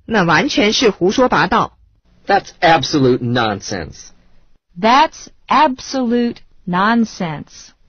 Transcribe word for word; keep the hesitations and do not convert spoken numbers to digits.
那完全是胡说八道。 That's absolute nonsense. That's absolute nonsense.